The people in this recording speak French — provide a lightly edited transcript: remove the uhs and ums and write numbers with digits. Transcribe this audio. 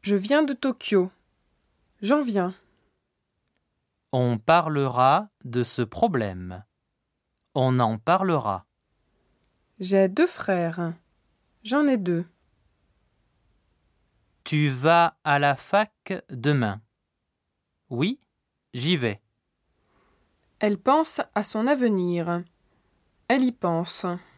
Je viens de Tokyo. J'en viens. On parlera de ce problème. On en parlera. J'ai 2 frères. J'en ai 2. Tu vas à la fac demain. Oui, j'y vais. Elle pense à son avenir. Elle y pense.